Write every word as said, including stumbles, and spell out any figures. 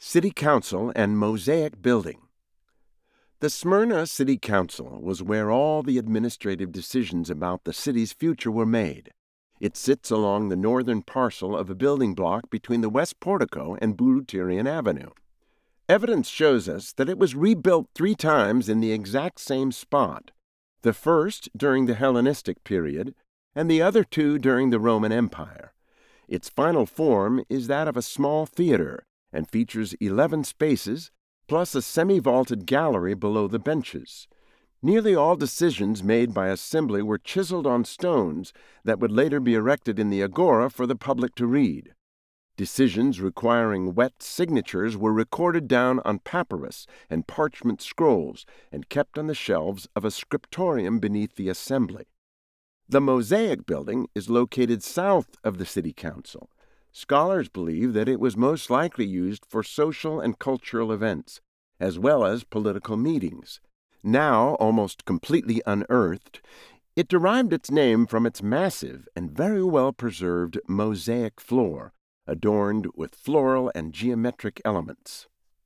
City Council and Mosaic Building. The Smyrna City Council was where all the administrative decisions about the city's future were made. It sits along the northern parcel of a building block between the West Portico and Bourutirian Avenue. Evidence shows us that it was rebuilt three times in the exact same spot, the first during the Hellenistic period and the other two during the Roman Empire. Its final form is that of a small theater and features eleven spaces, plus a semi-vaulted gallery below the benches. Nearly all decisions made by Assembly were chiseled on stones that would later be erected in the agora for the public to read. Decisions requiring wet signatures were recorded down on papyrus and parchment scrolls and kept on the shelves of a scriptorium beneath the Assembly. The Mosaic Building is located south of the City Council. Scholars believe that it was most likely used for social and cultural events, as well as political meetings. Now almost completely unearthed, it derived its name from its massive and very well-preserved mosaic floor, adorned with floral and geometric elements.